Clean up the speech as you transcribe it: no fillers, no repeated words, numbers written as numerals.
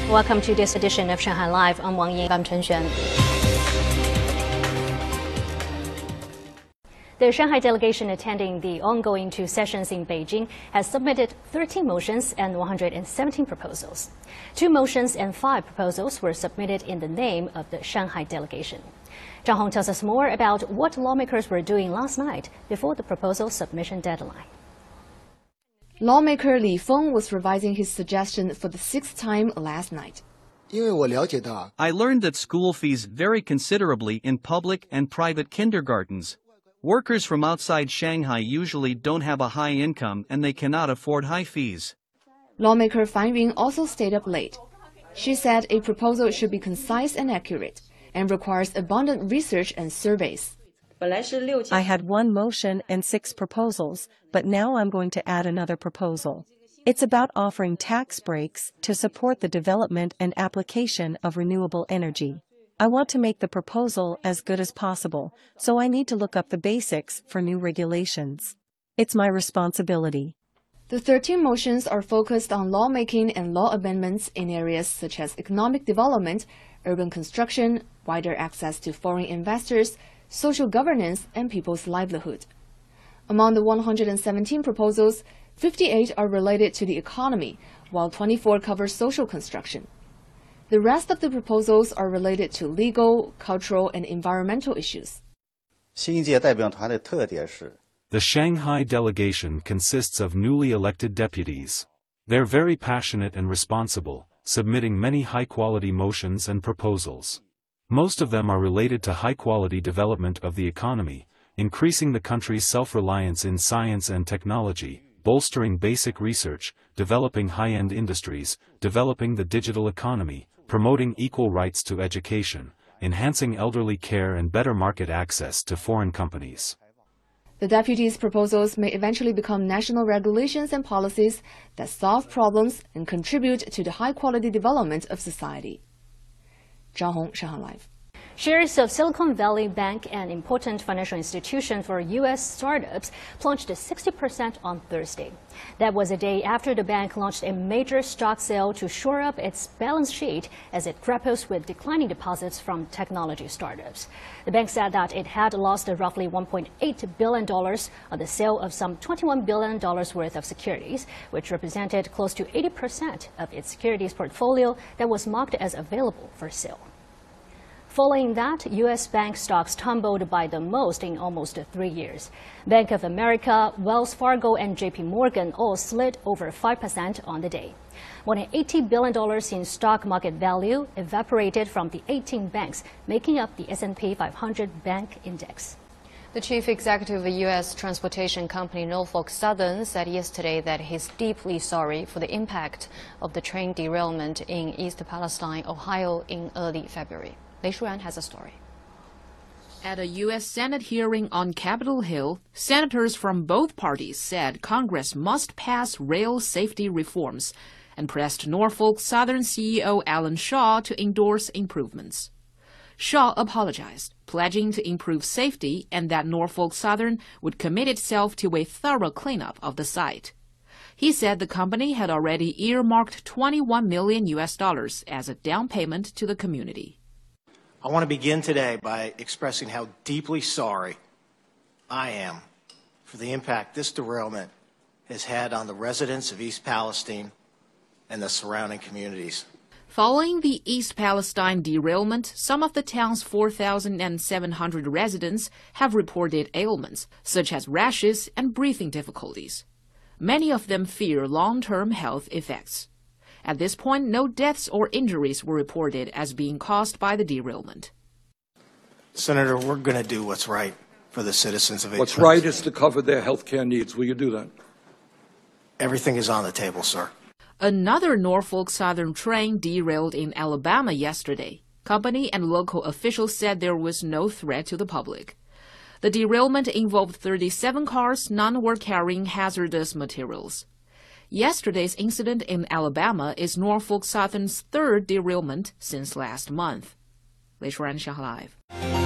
Welcome to this edition of Shanghai Live. I'm Wang Ying. I'm Chen Xuan. The Shanghai delegation attending the ongoing two sessions in Beijing has submitted 13 motions and 117 proposals. 2 motions and 5 proposals were submitted in the name of the Shanghai delegation. Zhang Hong tells us more about what lawmakers were doing last night before the proposal submission deadline. Lawmaker Li Feng was revising his suggestion for the 6th time last night. I learned that school fees vary considerably in public and private kindergartens. Workers from outside Shanghai usually don't have a high income and they cannot afford high fees. Lawmaker Fan Yun also stayed up late. She said a proposal should be concise and accurate and requires abundant research and surveys. I had 1 motion and 6 proposals, but now I'm going to add another proposal. It's about offering tax breaks to support the development and application of renewable energy. I want to make the proposal as good as possible, so I need to look up the basics for new regulations. It's my responsibility. The 13 motions are focused on lawmaking and law amendments in areas such as economic development, urban construction, wider access to foreign investors, social governance, and people's livelihood. Among the 117 proposals, 58 are related to the economy, while 24 cover social construction. The rest of the proposals are related to legal, cultural, and environmental issues. The Shanghai delegation consists of newly elected deputies. They're very passionate and responsible, submitting many high-quality motions and proposals. Most of them are related to high-quality development of the economy, increasing the country's self-reliance in science and technology, bolstering basic research, developing high-end industries, developing the digital economy, promoting equal rights to education, enhancing elderly care and better market access to foreign companies. The deputies' proposals may eventually become national regulations and policies that solve problems and contribute to the high-quality development of society. Zhang Hong, Shanghai Live. Shares of Silicon Valley Bank, an important financial institution for U.S. startups, plunged 60% on Thursday. That was a day after the bank launched a major stock sale to shore up its balance sheet as it grapples with declining deposits from technology startups. The bank said that it had lost roughly $1.8 billion on the sale of some $21 billion worth of securities, which represented close to 80% of its securities portfolio that was marked as available for sale. Following that, U.S. bank stocks tumbled by the most in almost 3 years. Bank of America, Wells Fargo, and J.P. Morgan all slid over 5% on the day. More than $80 billion in stock market value evaporated from the 18 banks making up the S&P 500 Bank Index. The chief executive of the U.S. transportation company Norfolk Southern said yesterday that he's deeply sorry for the impact of the train derailment in East Palestine, Ohio in early February. Lei Shuran has a story. At a U.S. Senate hearing on Capitol Hill, senators from both parties said Congress must pass rail safety reforms and pressed Norfolk Southern CEO Alan Shaw to endorse improvements. Shaw apologized, pledging to improve safety and that Norfolk Southern would commit itself to a thorough cleanup of the site. He said the company had already earmarked $21 million as a down payment to the community. I want to begin today by expressing how deeply sorry I am for the impact this derailment has had on the residents of East Palestine and the surrounding communities. Following the East Palestine derailment, some of the town's 4,700 residents have reported ailments, such as rashes and breathing difficulties. Many of them fear long-term health effects. At this point, no deaths or injuries were reported as being caused by the derailment. Senator, we're going to do what's right for the citizens of East What's right is to cover their health care needs. Will you do that? Everything is on the table, sir. Another Norfolk Southern train derailed in Alabama yesterday. Company and local officials said there was no threat to the public. The derailment involved 37 cars, none were carrying hazardous materials. Yesterday's incident in Alabama is Norfolk Southern's 3rd derailment since last month. Lei Shuran, Shanghai Live.